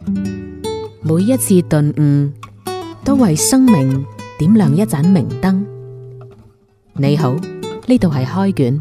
每一次頓悟，都為生命點亮一盞明燈。你好，呢度係開卷。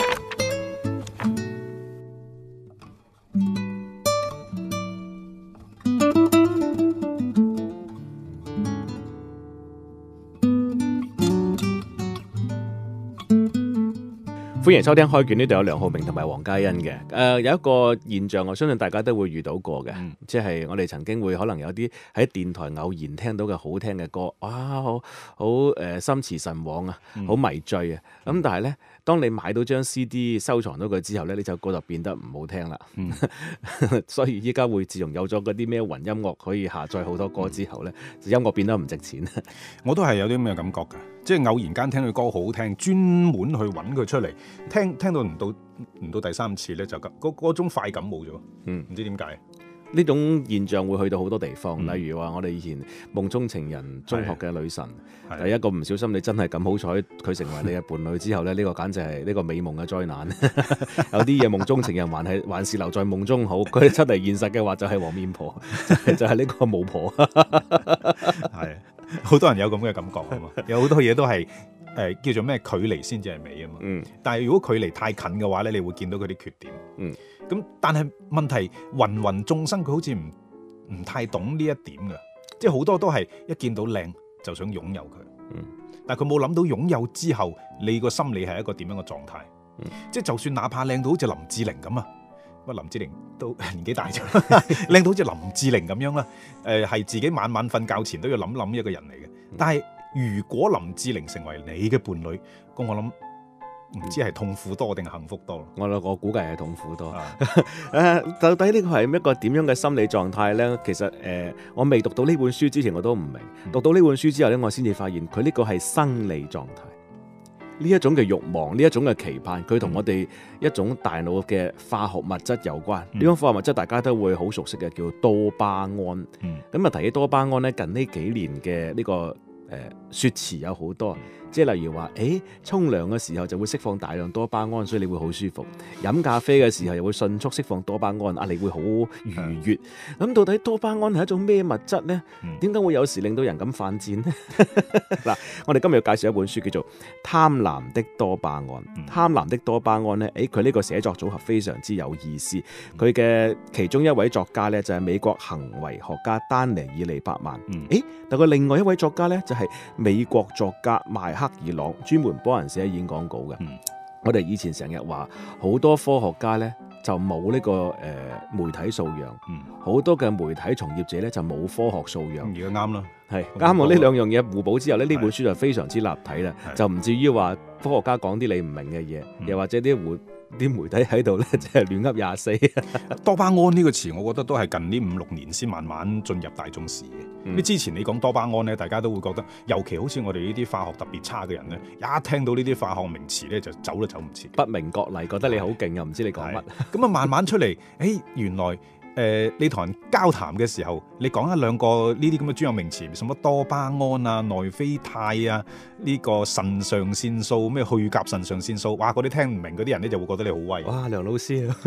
歡迎收聽開卷，呢度有梁浩明同埋黃嘉欣嘅。有一個現象，我相信大家都會遇到過嘅，即係我哋曾經會可能有啲喺電台偶然聽到嘅好聽嘅歌，哇，好心馳神往啊，好迷醉啊。咁但係呢，當你買到張 CD 收藏到佢之後呢，呢首歌就變得唔好聽啦。所以依家會自從有咗嗰啲咩雲音樂可以下載好多歌之後呢，音樂變得唔值錢。 我都係有啲咁嘅感覺㗎，即係偶然間聽佢歌好聽，專門去揾佢出嚟聽到唔到第三次咧，就嗰種快感冇咗。唔知點解呢種現象會去到好多地方，例如話我哋以前夢中情人中學嘅女神，第一個唔小心你真係咁好彩佢成為你嘅伴侶之後咧，呢個簡直係呢個美夢嘅災難。有啲嘢夢中情人還是留在夢中好，佢出嚟現實嘅話就係黃面婆，就係呢個巫婆。 係好多人有咁嘅感覺啊嘛，有好多嘢都係叫做咩距離先至係美啊嘛。但係如果距離太近嘅話咧，你會見到佢啲缺點。咁但係問題芸芸眾生佢好似唔太懂呢一點嘅，即係好多都係一見到靚就想擁有佢。但係佢冇諗到擁有之後你個心理係一個點樣嘅狀態。即係就算哪怕靚到好似林志玲咁啊，林志玲都年紀大咗，靚到好似林志玲咁樣啦。係自己晚晚瞓覺前都要諗一個人嚟嘅。但係如果林志玲成為你嘅伴侶，咁我諗唔知係痛苦多定係幸福多。 我估計係痛苦多。到底呢個係一個點樣嘅心理狀態呢？其實我未讀到呢本書之前我都唔明，讀到呢本書之後呢，我先至發現佢呢個係生理狀態。呢一種嘅慾望，呢一種嘅期盼，佢同我哋一種大腦嘅化學物質有關。呢種化學物質大家都會好熟悉嘅，叫多巴胺。咁啊，提起多巴胺呢，近呢幾年嘅呢個説詞有好多。即係例如話，沖涼嘅時候就會釋放大量多巴胺，所以你會好舒服；飲咖啡嘅時候又會迅速釋放多巴胺，你會好愉悅。咁到底多巴胺係一種咩物質呢？點解會有時令到人咁犯賤呢？嗱，我哋今日要介紹一本書，叫做《貪婪的多巴胺》。貪婪的多巴胺呢，佢呢個寫作組合非常之有意思。佢嘅其中一位作家呢，就係美國行為學家丹尼爾利伯曼。但佢另外一位作家呢，就係美國作家邁克爾朗，專門幫人寫演講稿嘅。我哋以前成日話好多科學家呢就冇呢個媒體素養，好多嘅媒體從業者呢就冇科學素養。 而家啱啦， 係啱我呢兩樣嘢互補之後呢，呢本書就非常之立體啦，就唔至於話科學家講啲你唔明嘅嘢，又或者啲媒體喺度咧，即係亂噏廿四。 多巴胺呢個詞，我覺得都係近呢5-6年先慢慢進入大眾視野。之前你講多巴胺咧，大家都會覺得，尤其好似我哋呢啲化學特別差嘅人咧，一聽到呢啲化學名詞咧，就走都走唔切， 不明覺厲，覺得你好勁又唔知你講乜。 咁啊，慢慢出嚟，原來你同人交談嘅時候，你講一兩個呢啲咁嘅專有名詞，什麼多巴胺啊、內啡肽啊、呢個腎上腺素、咩去甲腎上腺素，哇！嗰啲聽唔明嗰啲人咧，就會覺得你好威。 哇，梁老師啊！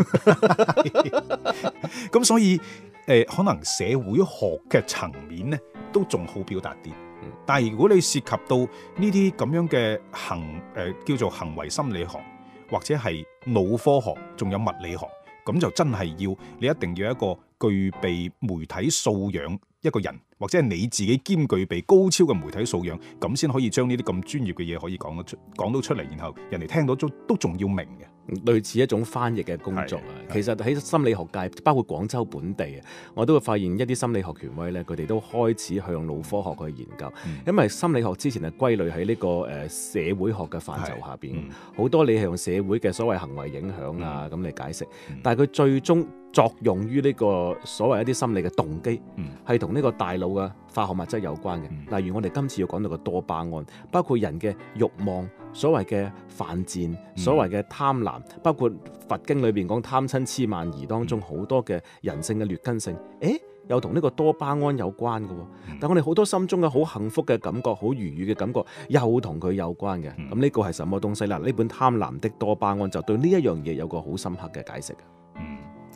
咁所以可能社會學嘅層面咧，都仲好表達啲。但係如果你涉及到呢啲咁樣嘅叫做行為心理學，或者係腦科學，仲有物理學。咁就真係你一定要一個具備媒體素養一個人，或者係你自己兼具備高超嘅媒體素養，咁先可以將呢啲咁專業嘅嘢可以講到出嚟，然後人哋聽到都仲要明嘅。類似一種翻譯嘅工作啊。其實喺心理學界，包括廣州本地啊，我都會發現一啲心理學權威咧，佢哋都開始向腦科學去研究。因為心理學之前係歸類喺呢個社會學嘅範疇下邊，好多你係用社會嘅所謂行為影響啊咁嚟解釋，但係佢最終作用於呢個所謂一啲心理嘅動機，係同呢個大腦嘅化學物質有關嘅。例如我哋今次要講到嘅多巴胺，包括人嘅慾望、所謂嘅犯賤、所謂嘅貪婪，包括佛經裏邊講貪嗔痴慢疑當中好多嘅人性嘅劣根性，又同呢個多巴胺有關嘅。但我哋好多心中嘅好幸福嘅感覺、好愉悅嘅感覺，又同佢有關嘅。咁呢個係什麼東西啦？呢本《貪婪的多巴胺》就對呢一樣嘢有個好深刻嘅解釋。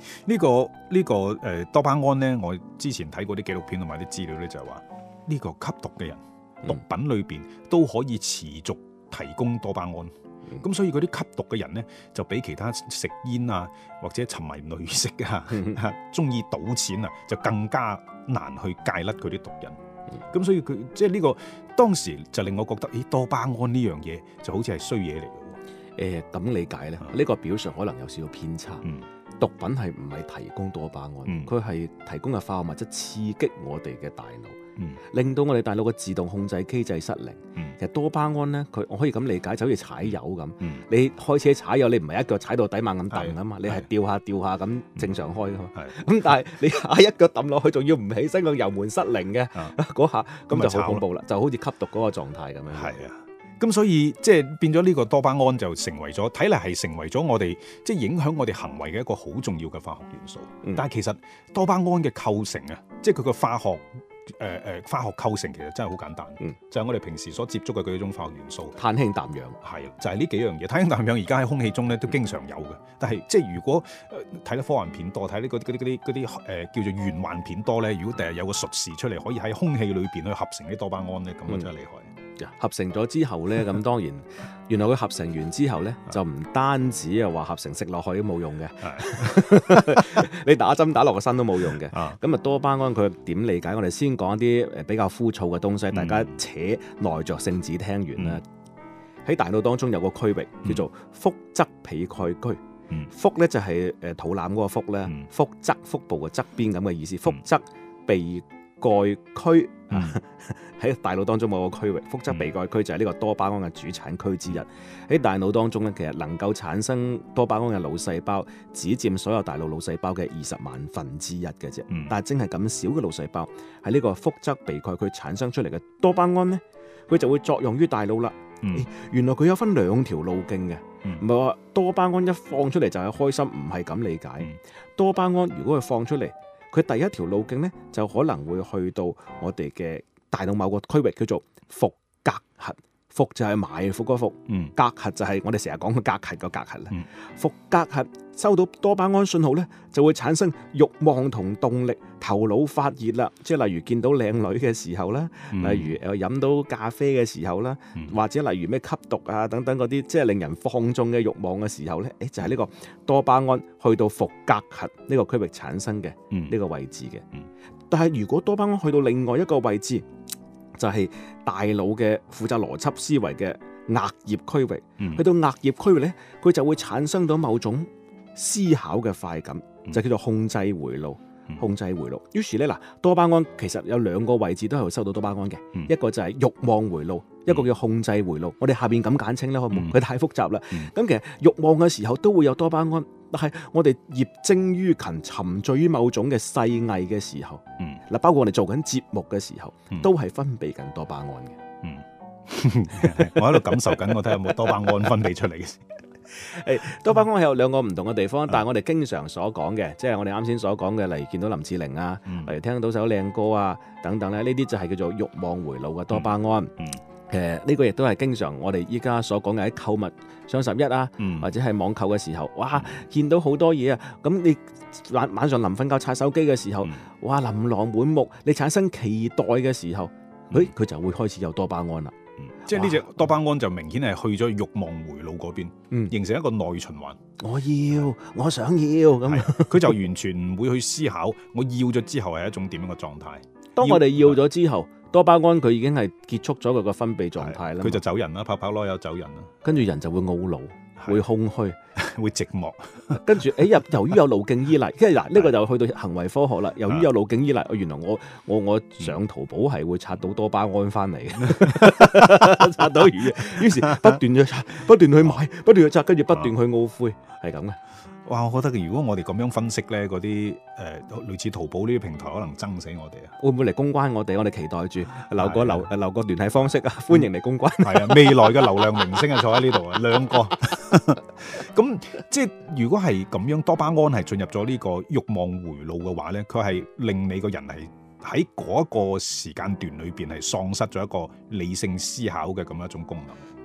多巴胺咧，我之前睇過啲紀錄片同埋啲資料咧，就係話呢個吸毒嘅人，毒品裏邊都可以持續提供多巴胺。咁所以嗰啲吸毒嘅人咧，就比其他食煙啊或者沉迷女色啊、中意賭錢啊，就更加難去戒甩佢啲毒癮。咁所以佢即係呢個當時就令我覺得，多巴胺呢樣嘢就好似係衰嘢嚟嘅。 咁理解咧，呢個表述可能有少少偏差。毒品係唔係提供多巴胺？佢係提供嘅化學物質刺激我哋嘅大腦，令到我哋大腦嘅自動控制機制失靈。其實多巴胺咧，我可以咁理解，就好似踩油咁。你開車踩油，你唔係一腳踩到底猛咁蹬啊嘛，你係掉下咁正常開㗎嘛。咁但係你一腳抌落去，仲要唔起身，個油門失靈嘅嗰下，咁就好恐怖啦，就好似吸毒嗰個狀態咁樣。 係啊。咁所以即係變咗呢個多巴胺就成為咗，睇嚟係成為咗我哋即係影響我哋行為嘅一個好重要嘅化學元素。但係其實多巴胺嘅構成啊，即係佢個化學構成其實真係好簡單，就係我哋平時所接觸嘅嗰種化學元素， 碳氫氮氧， 係就係呢幾樣嘢。碳氫氮氧而家喺空氣中咧都經常有嘅，但係即係如果睇得科幻片多，睇啲叫做玄幻片多咧，如果第日有個術士出嚟可以喺空氣裏邊去合成啲多巴胺咧，咁啊真係厲害。 合成咗之後咧，咁當然原來佢合成完之後咧，就唔單止話合成食落去都冇用嘅，你打針打落個身都冇用嘅。咁多巴胺佢點理解？我哋先講一啲比較枯燥嘅東西，大家扯耐着性子聽完啦。喺大腦當中有個區域叫做腹側被蓋區，腹咧就係肚腩嗰個腹咧，腹側腹部嘅側邊咁嘅意思，腹側被蓋區喺大腦當中某個區域，腹側被蓋區就係呢個多巴胺嘅主產區之一。喺大腦當中咧，其實能夠產生多巴胺嘅腦細胞只佔所有大腦腦細胞嘅20萬分之一嘅啫。但係正係咁少嘅腦細胞喺呢個腹側被蓋區產生出嚟嘅多巴胺咧，佢就會作用於大腦啦。原來佢有分2條路徑嘅，唔係話多巴胺一放出嚟就係開心，唔係咁理解。多巴胺如果佢放出嚟，佢第一條路徑咧就可能會去到我哋嘅大腦某個區域叫做伏隔核，伏就係埋伏嗰伏，隔核就係我哋成日講嘅隔核個隔核啦。伏隔核收到多巴胺信號咧，就會產生慾望同動力，頭腦發熱啦。即係例如見到靚女嘅時候啦，例如飲到咖啡嘅時候啦，或者例如咩吸毒啊等等嗰啲，即係令人放縱嘅慾望嘅時候咧，就係呢個多巴胺去到伏隔核呢個區域產生嘅呢個位置嘅。但係如果多巴胺去到另外一個位置，就係大腦嘅負責邏輯思維嘅額葉區域，去到額葉區域咧，佢就會產生到某種思考嘅快感，就叫做控制回路。控制回路。於是咧，多巴胺其實有2個位置都係會收到多巴胺嘅，一個就係慾望回路，一個叫控制回路。我哋下邊咁簡稱啦，佢太複雜啦。咁其實慾望嘅時候都會有多巴胺，但係我哋業精於勤、沉醉於某種嘅細藝嘅時候，包括我哋做緊節目嘅時候，都係分泌緊多巴胺嘅。 我喺度感受緊，我睇下有冇多巴胺分泌出嚟嘅。 多巴胺係有2個唔同嘅地方，但係我哋經常所講嘅，即係我哋啱先所講嘅，例如見到林志玲啊，例如聽到首靚歌啊等等咧，呢啲就係叫做慾望回路嘅多巴胺。呢個亦都係經常我哋依家所講嘅喺購物雙11啊，或者係網購嘅時候，哇，見到好多嘢啊，咁你晚上臨瞓覺刷手機嘅時候，哇，琳琅滿目，你產生期待嘅時候，佢就會開始有多巴胺啦。 即係呢隻多巴胺就明顯係去咗慾望回路嗰邊，形成一個內循環。 我想要咁， 佢就完全唔會去思考我要咗之後係一種點樣嘅狀態。 當我哋要咗之後，多巴胺佢已經係結束咗佢個分泌狀態啦， 佢就走人啦，拍拍籮柚走人啦， 跟住人就會懊惱，會空虛， 會寂寞。 跟住由於有路徑依賴，跟住呢個就去到行為科學啦。由於有路徑依賴，原來我上淘寶係會刷到多巴胺翻嚟嘅，刷到魚，於是不斷去刷，不斷去買，不斷去刷，跟住不斷去懊悔，係咁嘅。 哇！我覺得如果我哋咁樣分析咧，嗰啲類似淘寶呢啲平台可能憎死我哋啊！ 會唔會嚟公關我哋？我哋期待住留個聯繫方式啊！歡迎嚟公關。 係啊，未來嘅流量明星啊，坐喺呢度啊，2個。咁即係如果係咁樣，多巴胺係進入咗呢個慾望回路嘅話咧，佢係令你個人係喺嗰一個時間段裏邊係喪失咗一個理性思考嘅咁一種功能。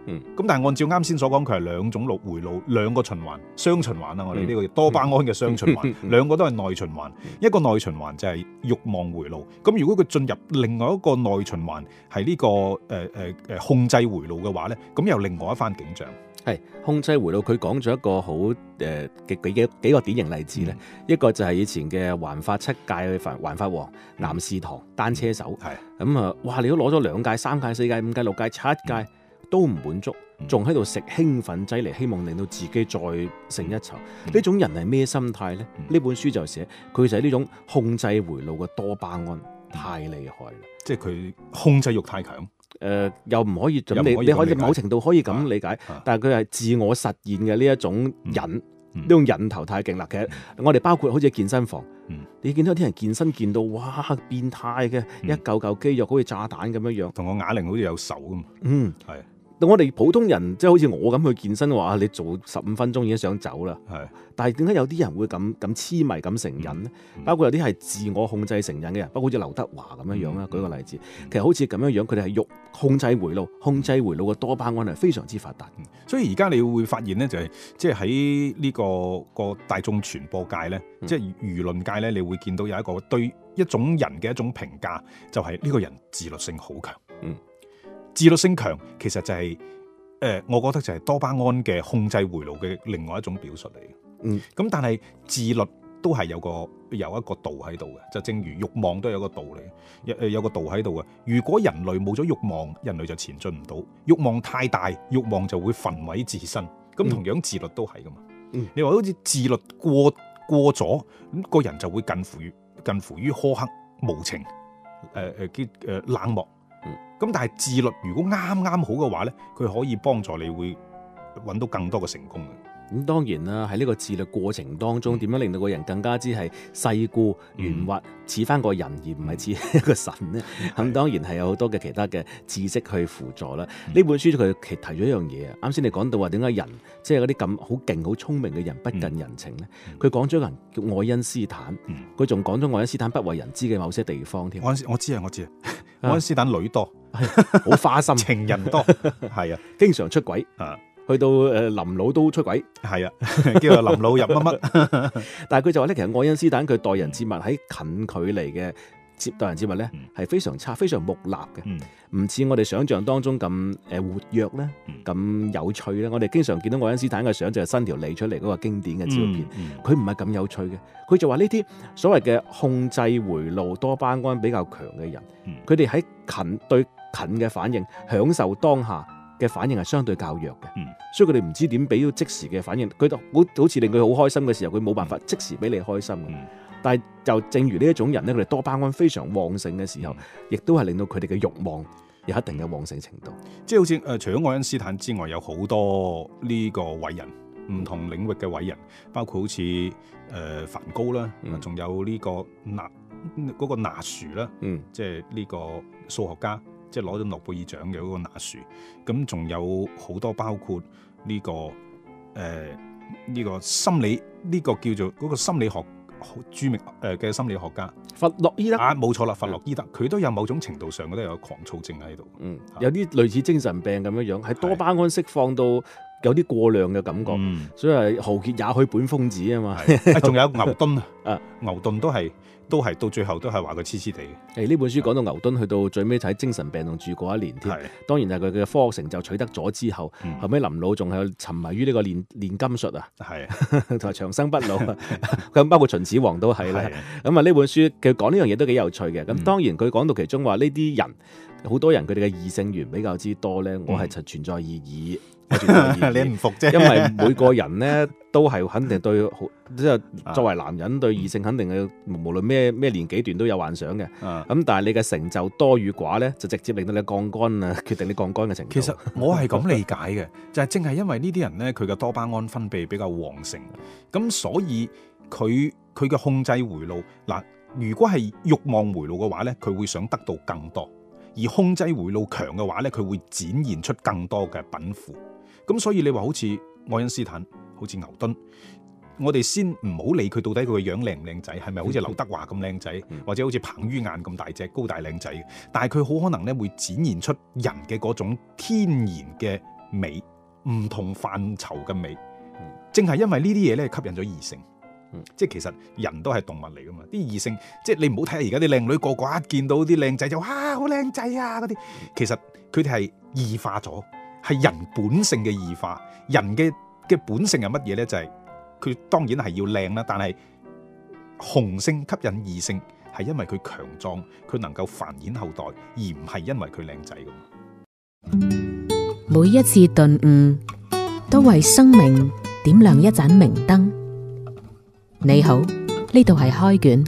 咁但係按照啱先所講，佢係兩種回路，兩個循環，雙循環啦。我哋呢個多巴胺嘅雙循環，兩個都係內循環。一個內循環就係慾望回路。咁如果佢進入另外一個內循環，係呢個控制回路嘅話咧，咁又另外一番景象。 係控制回路，佢講咗一個好幾個典型例子咧。一個就係以前嘅環法7屆環法王岩士堂單車手，咁啊，哇！你都攞咗2屆、3屆、4屆、5屆、6屆、7屆都唔滿足，仲喺度食興奮劑嚟，希望令到自己再勝一籌。呢種人係咩心態咧？呢本書就寫佢就係呢種控制回路嘅多巴胺太厲害啦，即係佢控制欲太強。 又唔可以咁，你可以某程度可以咁理解，但係佢係自我實現嘅呢一種癮，呢種癮頭太勁啦。其實我哋包括好似健身房，你見到啲人健身見到哇變態嘅，一嚿肌肉好似炸彈咁樣樣， 同個啞鈴好似有仇咁。係。 我哋普通人即係好似我咁去健身嘅話，你做15分鐘已經想走啦。係，但係點解有啲人會咁痴迷咁成癮呢？包括有啲係自我控制成癮嘅人，包括好似劉德華咁樣樣啦。舉個例子，其實好似咁樣樣，佢哋係控制回路嘅多巴胺係非常之發達。 所以而家你會發現呢，就係即係喺呢個大眾傳播界呢，即係輿論界呢，你會見到有一個對一種人嘅一種評價，就係呢個人自律性好強。自律性強其實就係我覺得就係多巴胺嘅控制回路嘅另外一種表述嚟。咁但係自律都係有一個度喺度嘅，就正如慾望都有個度嚟，有個度喺度嘅。如果人類冇咗慾望，人類就前進唔到。慾望太大，慾望就會焚毀自身。咁同樣自律都係噶嘛。你話好似自律過咗，咁個人就會近乎於苛刻無情，冷漠。咁但係自律如果啱好嘅話咧，佢可以幫助你會揾到更多嘅成功嘅。 咁當然啦，喺呢個自律過程當中，點樣令到個人更加之係世故圓滑，似翻個人而唔係似一個神呢？咁當然係有好多嘅其他嘅知識去輔助啦。呢本書佢提咗一樣嘢啊，啱先你講到話點解人即係嗰啲咁好勁、好聰明嘅人不近人情呢？佢講咗個人叫愛因斯坦，佢仲講咗愛因斯坦不為人知嘅某些地方添。 我知啊，愛因斯坦女多， 好花心， 情人多，係啊， 經常出軌啊。去到林老都出軌， 係啊，叫做林老入乜乜。 但係佢就話咧，其實愛因斯坦佢待人接物喺近距離嘅待人接物咧，係非常差、非常木訥嘅，唔似我哋想象當中咁活躍咧、咁有趣咧。我哋經常見到愛因斯坦嘅相就係伸條脷出嚟嗰個經典嘅照片，佢唔係咁有趣嘅。佢就話呢啲所謂嘅控制回路多巴胺比較強嘅人，佢哋喺對近嘅反應、享受當下嘅反應係相對較弱嘅，所以佢哋唔知點俾到即時嘅反應。佢好似令佢好開心嘅時候，佢冇辦法即時俾你開心。但係就正如呢一種人咧，佢哋多巴胺非常旺盛嘅時候，亦都係令到佢哋嘅慾望有一定嘅旺盛程度。 即係好似除咗愛因斯坦之外，有好多呢個偉人，唔同領域嘅偉人，包括好似梵高啦，仲有呢個嗰個納殊啦，即係呢個數學家。即係攞咗諾貝爾獎嘅嗰個納殊，咁仲有好多包括呢個心理呢個叫做嗰個心理學著名嘅心理學家弗洛伊德冇錯啦，弗洛伊德佢都有某種程度上都有狂躁症喺度， 有啲類似精神病咁樣樣，係多巴胺釋放到有啲過量嘅感覺，所以係豪傑也許本瘋子啊嘛。 仲有牛頓啊，牛頓都係到最後都係話佢痴痴地嘅。 呢本書講到牛頓去到最尾睇精神病棟住過1年添，當然係佢嘅科學成就取得咗之後，後尾臨老仲係沉迷於呢個煉金術啊，同埋長生不老啊，咁包括秦始皇都係啦。咁啊呢本書佢講呢樣嘢都幾有趣嘅。咁當然佢講到其中話呢啲人好多人佢哋嘅異性緣比較之多咧，我係存在異議。 你唔服啫， 因為每個人咧都係肯定對，即係作為男人對異性肯定係無論咩年紀段都有幻想嘅。咁但係你嘅成就多與寡咧，就直接令到你降肝啊，決定你降肝嘅程度。 其實我係咁理解嘅，就係正係因為呢啲人咧，佢嘅多巴胺分泌比較旺盛，咁所以佢嘅控制回路嗱，如果係慾望回路嘅話咧，佢會想得到更多；而控制回路強嘅話咧，佢會展現出更多嘅稟賦。咁所以你話好似愛因斯坦，好似牛頓，我哋先唔好理佢到底佢個樣靚唔靚仔，係咪好似劉德華咁靚仔，或者好似彭于晏咁大隻高大靚仔，但係佢好可能咧會展現出人嘅嗰種天然嘅美，唔同範疇嘅美。正係因為呢啲嘢咧吸引咗異性。即係其實人都係動物嚟噶嘛，啲異性即係你唔好睇下而家啲靚女個個一見到啲靚仔就好靚仔啊嗰啲，其實佢哋係異化咗，係人本性嘅異化。人嘅本性係乜嘢咧？就係佢當然係要靚啦，但係雄性吸引異性係因為佢強壯，佢能夠繁衍後代，而唔係因為佢靚仔噶。 每一次頓悟都為生命點亮一盞明燈。你好，呢度係開卷。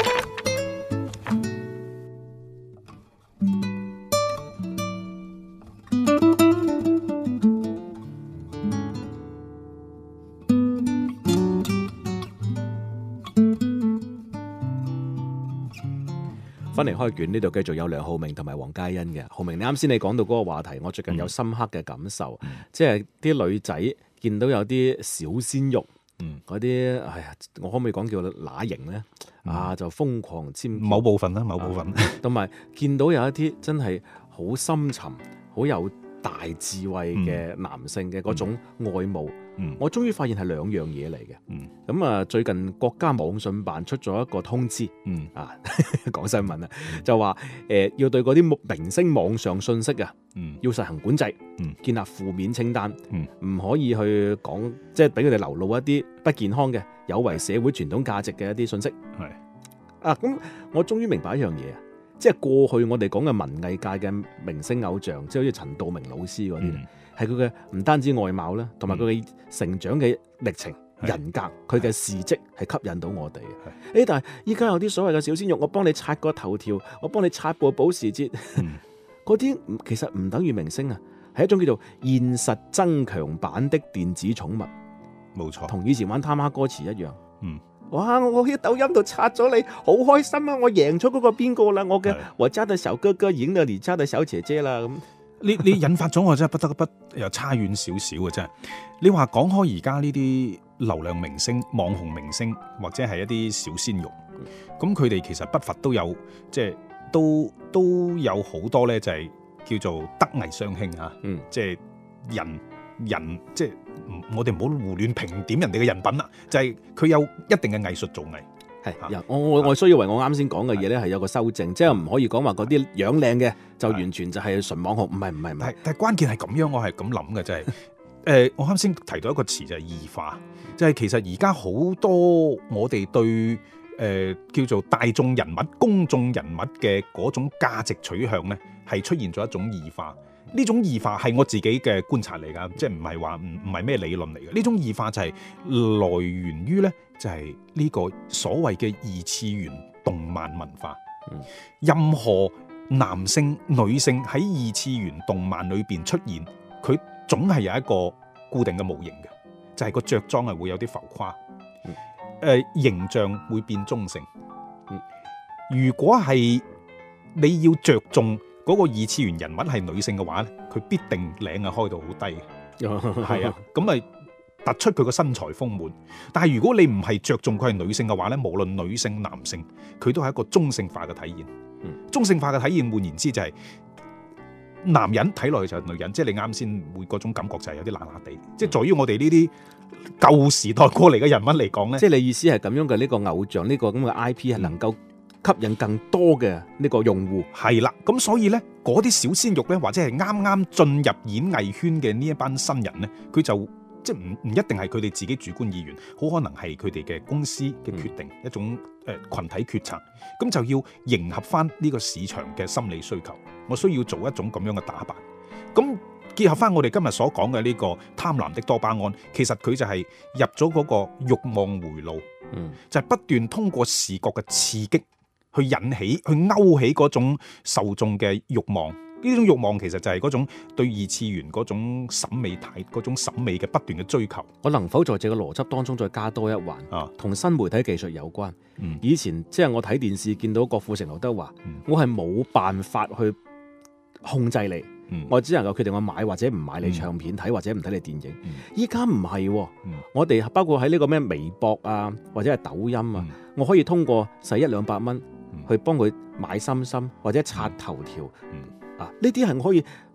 翻嚟開卷呢度繼續有梁浩明同埋黃嘉欣嘅。浩明，你啱先你講到嗰個話題，我最近有深刻嘅感受，即係啲女仔見到有啲小鮮肉，嗰啲哎呀，我可唔可以講叫乸型咧？就瘋狂簽某部分啦，某部分， 同埋見到有一啲真係好深沉、好有大智慧嘅男性嘅嗰種愛慕，我終於發現係兩樣嘢嚟嘅。咁最近國家網信辦出咗一個通知，講新聞啊，就話要對嗰啲明星網上信息啊，要實行管制，建立負面清單，唔可以去講，即係俾佢哋流露一啲不健康嘅、有違社會傳統價值嘅一啲信息。咁我終於明白一樣嘢啊！即係過去我哋講嘅文藝界嘅明星偶像，即係好似陳道明老師嗰啲咧，係佢嘅唔單止外貌啦，同埋佢嘅成長嘅歷程、人格，佢嘅事蹟係吸引到我哋嘅。但係依家有啲所謂嘅小鮮肉，我幫你刷個頭條，我幫你刷部保時捷，嗰啲其實唔等於明星啊，係一種叫做現實增強版的電子寵物。 冇錯， 同以前玩他媽歌詞一樣。哇！我喺抖音度刷咗你，好開心啊！我贏咗嗰個邊個啦，我家的小哥哥贏咗你家的小姐姐啦咁。 你引發咗我真係不得不又差遠少少嘅真係。你話講開而家呢啲流量明星、網紅明星或者係一啲小鮮肉，咁佢哋其實不乏都有即係都有好多咧，就係叫做德藝雙馨啊。即係人即係我哋唔好胡亂評點人哋嘅人品啦，就係佢有一定嘅藝術造詣。我需要為我啱先講嘅嘢咧係有個修正，即係唔可以講話嗰啲樣靚嘅就完全就係純網紅，唔係。但係關鍵係咁樣，我係咁諗嘅，就係我啱先提到一個詞就係異化，就係其實而家好多我哋對叫做大眾人物、公眾人物嘅嗰種價值取向咧，係出現咗一種異化。呢種異化係我自己嘅觀察嚟㗎，即係唔係話唔係咩理論嚟嘅。呢種異化就係來源於咧，就係呢個所謂嘅二次元動漫文化。任何男性、女性喺二次元動漫裏邊出現，佢總係有一個固定嘅模型嘅，就係個着裝係會有啲浮誇，形象會變中性。如果係你要着重嗰個二次元人物係女性嘅話咧，佢必定領係開到好低嘅，係啊，咁咪突出佢個身材豐滿。但係如果你唔係着重佢係女性嘅話咧，無論女性男性，佢都係一個中性化嘅體現。中性化嘅體現換言之就係男人睇落去就係女人，即係你啱先會嗰種感覺就係有啲辣辣地。即係在於我哋呢啲舊時代過嚟嘅人物嚟講咧， 即係你意思係咁樣嘅呢個偶像呢個咁嘅 IP 係能夠吸引更多嘅呢個用戶。係啦，咁所以咧嗰啲小鮮肉咧，或者係啱啱進入演藝圈嘅呢一班新人咧，佢就即係唔一定係佢哋自己主觀意願，好可能係佢哋嘅公司嘅決定，一種群體決策，咁就要迎合翻呢個市場嘅心理需求。我需要做一種咁樣嘅打扮，咁結合翻我哋今日所講嘅呢個貪婪的多巴胺，其實佢就係入咗嗰個慾望回路，就係不斷通過視覺嘅刺激去引起、去勾起嗰種受眾嘅慾望。呢種慾望其實就係嗰種對二次元嗰種審美態、嗰種審美嘅不斷嘅追求。 我能否在這個邏輯當中再加多一環？同新媒體技術有關。以前即係我睇電視見到郭富城、劉德華，我係冇辦法去控制你，我只能夠決定我買或者唔買你唱片睇或者唔睇你電影。依家唔係，我哋包括喺呢個咩微博啊或者係抖音啊，我可以通過使100-200蚊去幫佢買心心或者刷頭條。呢啲係我可以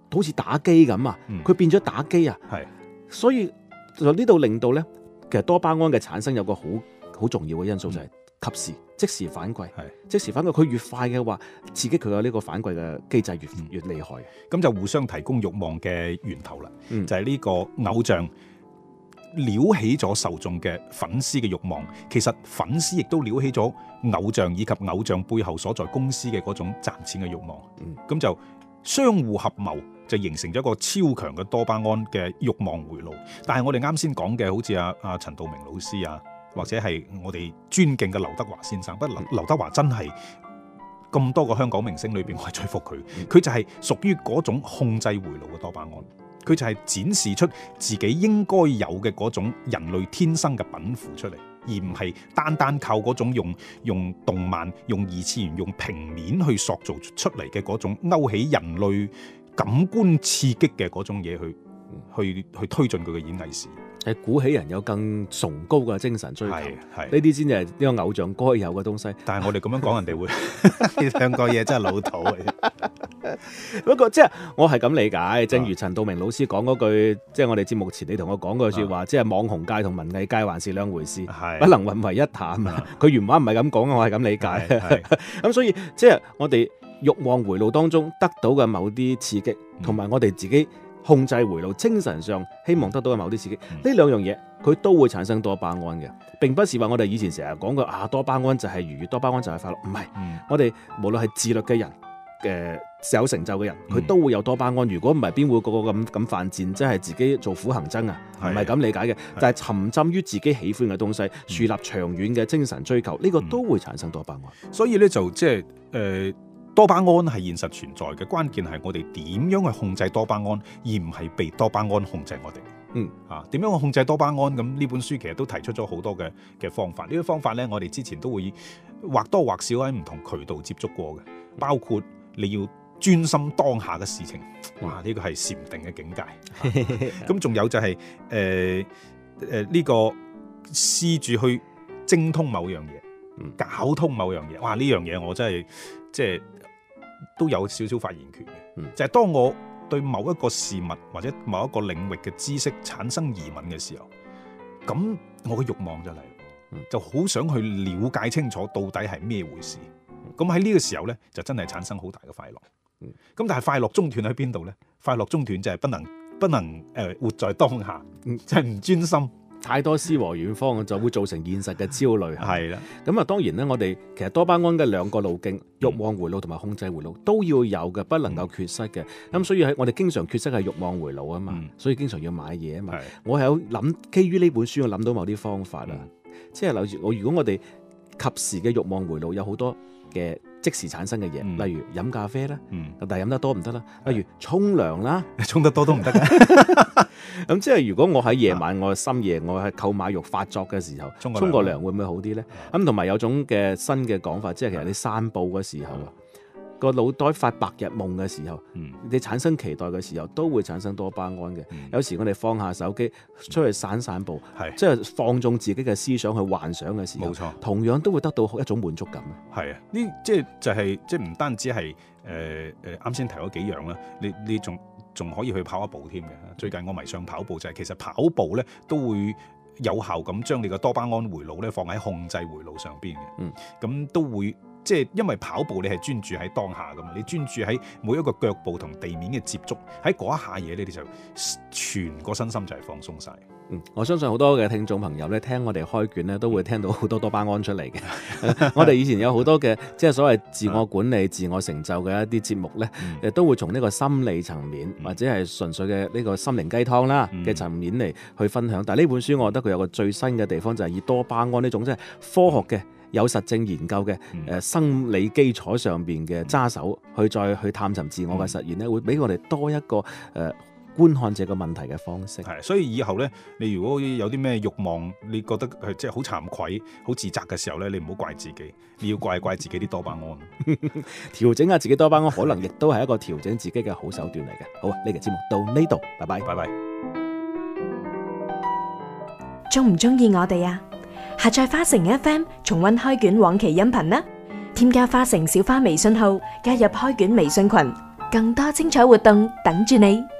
好似打機咁啊，佢變咗打機啊，所以就呢度令到咧，其實多巴胺嘅產生有個好重要嘅因素就係及時即時反饋，即時反饋佢越快嘅話，刺激佢嘅呢個反饋嘅機制越厲害， 咁就互相提供慾望嘅源頭啦，就係呢個偶像撩起咗受眾嘅粉絲嘅慾望，其實粉絲亦都撩起咗偶像以及偶像背後所在公司嘅嗰種賺錢嘅慾望，咁就相互合謀，就形成咗一個超強嘅多巴胺嘅慾望回路。但係我哋啱先講嘅，好似阿陳道明老師啊，或者係我哋尊敬嘅劉德華先生，不過劉德華真係咁多個香港明星裏邊，我係最服佢，佢就係屬於嗰種控制回路嘅多巴胺。佢就係展示出自己應該有嘅嗰種人類天生嘅稟賦出嚟，而唔係單單靠嗰種用動漫、用二次元、用平面去塑造出嚟嘅嗰種勾起人類感官刺激嘅嗰種嘢去推進佢嘅演藝事業。 係鼓起人有更崇高嘅精神追求，呢啲先係呢個偶像該有嘅東西。 但係我哋咁樣講，人哋會呢兩個嘢真係老土嘅。 不過即係我係咁理解，正如陳道明老師講嗰句，即係我哋節目前你同我講嗰句説話，即係網紅界同文藝界還是兩回事，不能混為一談。佢原話唔係咁講，我係咁理解。咁所以即係我哋慾望回路當中得到嘅某啲刺激，同埋我哋自己控制回路，精神上希望得到嘅某啲刺激，呢兩樣嘢佢都會產生多巴胺嘅，並不是話我哋以前成日講嘅多巴胺就係愉悅，多巴胺就係快樂，唔係。我哋無論係自律嘅人，有成就嘅人，佢都會有多巴胺。如果唔係，邊會個個咁犯賤，即係自己做苦行僧啊？唔係咁理解嘅，但係沉浸於自己喜歡嘅東西，樹立長遠嘅精神追求，呢個都會產生多巴胺。 所以咧就即係多巴胺係現實存在嘅，關鍵係我哋點樣去控制多巴胺，而唔係被多巴胺控制我哋。點樣去控制多巴胺？咁呢本書其實都提出咗好多嘅方法。呢啲方法咧，我哋之前都會或多或少喺唔同渠道接觸過嘅，包括你要專心當下嘅事情。哇！呢個係禪定嘅境界。咁仲有就係呢個試住去精通某樣嘢，搞通某樣嘢。哇！呢樣嘢我真係即係都有少少發言權嘅。就係當我對某一個事物或者某一個領域嘅知識產生疑問嘅時候，咁我嘅慾望就嚟，就好想去了解清楚到底係咩回事。咁喺呢個時候呢，就真係產生好大嘅快樂。咁但係快樂中斷喺邊度呢？快樂中斷就係不能活在當下，就係唔專心。 太多詩和遠方就會造成現實嘅焦慮。 係啦， 咁啊當然咧，我哋其實多巴胺嘅兩個路徑，慾望回路同埋控制回路都要有嘅，不能夠缺失嘅。咁所以喺我哋經常缺失係慾望回路啊嘛，所以經常要買嘢啊嘛。我係有諗，基於呢本書我諗到某啲方法啦，即係例如如果我哋及時嘅慾望回路有好多嘅即時產生嘅嘢，例如飲咖啡啦，但係飲得多唔得啦。例如沖涼啦， 沖得多都唔得嘅。 咁即係如果我喺夜晚，我深夜我係購買慾發作嘅時候，沖個涼會唔會好啲咧？咁同埋有種嘅新嘅講法，即係其實你散步嘅時候啊，個腦袋發白日夢嘅時候，你產生期待嘅時候，都會產生多巴胺嘅。有時我哋放下手機出去散步，即係放縱自己嘅思想去幻想嘅時候，冇錯，同樣都會得到一種滿足感。 係啊，呢即係唔單止係啱先提咗幾樣啦，你仲可以去跑一步添嘅。最近我迷上跑步，就係其實跑步咧都會有效咁將你個多巴胺回路咧放喺控制回路上邊嘅。咁都會即係因為跑步你係專注喺當下噶嘛，你專注喺每一個腳步同地面嘅接觸，喺嗰一下嘢你哋就全個身心就係放鬆晒。 我相信好多嘅聽眾朋友咧聽我哋開卷咧都會聽到好多多巴胺出嚟嘅。我哋以前有好多嘅即係所謂自我管理、自我成就嘅一啲節目咧，都會從呢個心理層面或者係純粹嘅呢個心靈雞湯啦嘅層面嚟去分享。但係呢本書我覺得佢有個最新嘅地方就係以多巴胺呢種即係科學嘅有實證研究嘅生理基礎上邊嘅揸手去再去探尋自我嘅實驗咧，會俾我哋多一個觀看這個問題嘅方式。 係，所以以後咧，你如果有啲咩慾望，你覺得係即係好慚愧、好自責嘅時候咧，你唔好怪自己，你要怪自己啲多巴胺。 調整下自己多巴胺，可能亦都係一個調整自己嘅好手段嚟嘅。好啊，呢期節目到呢度，拜拜，拜拜。 中唔中意我哋啊？下載花城 FM 重溫開卷往期音頻啦！添加花城小花微信號，加入開卷微信群。 更多精彩活動等住你。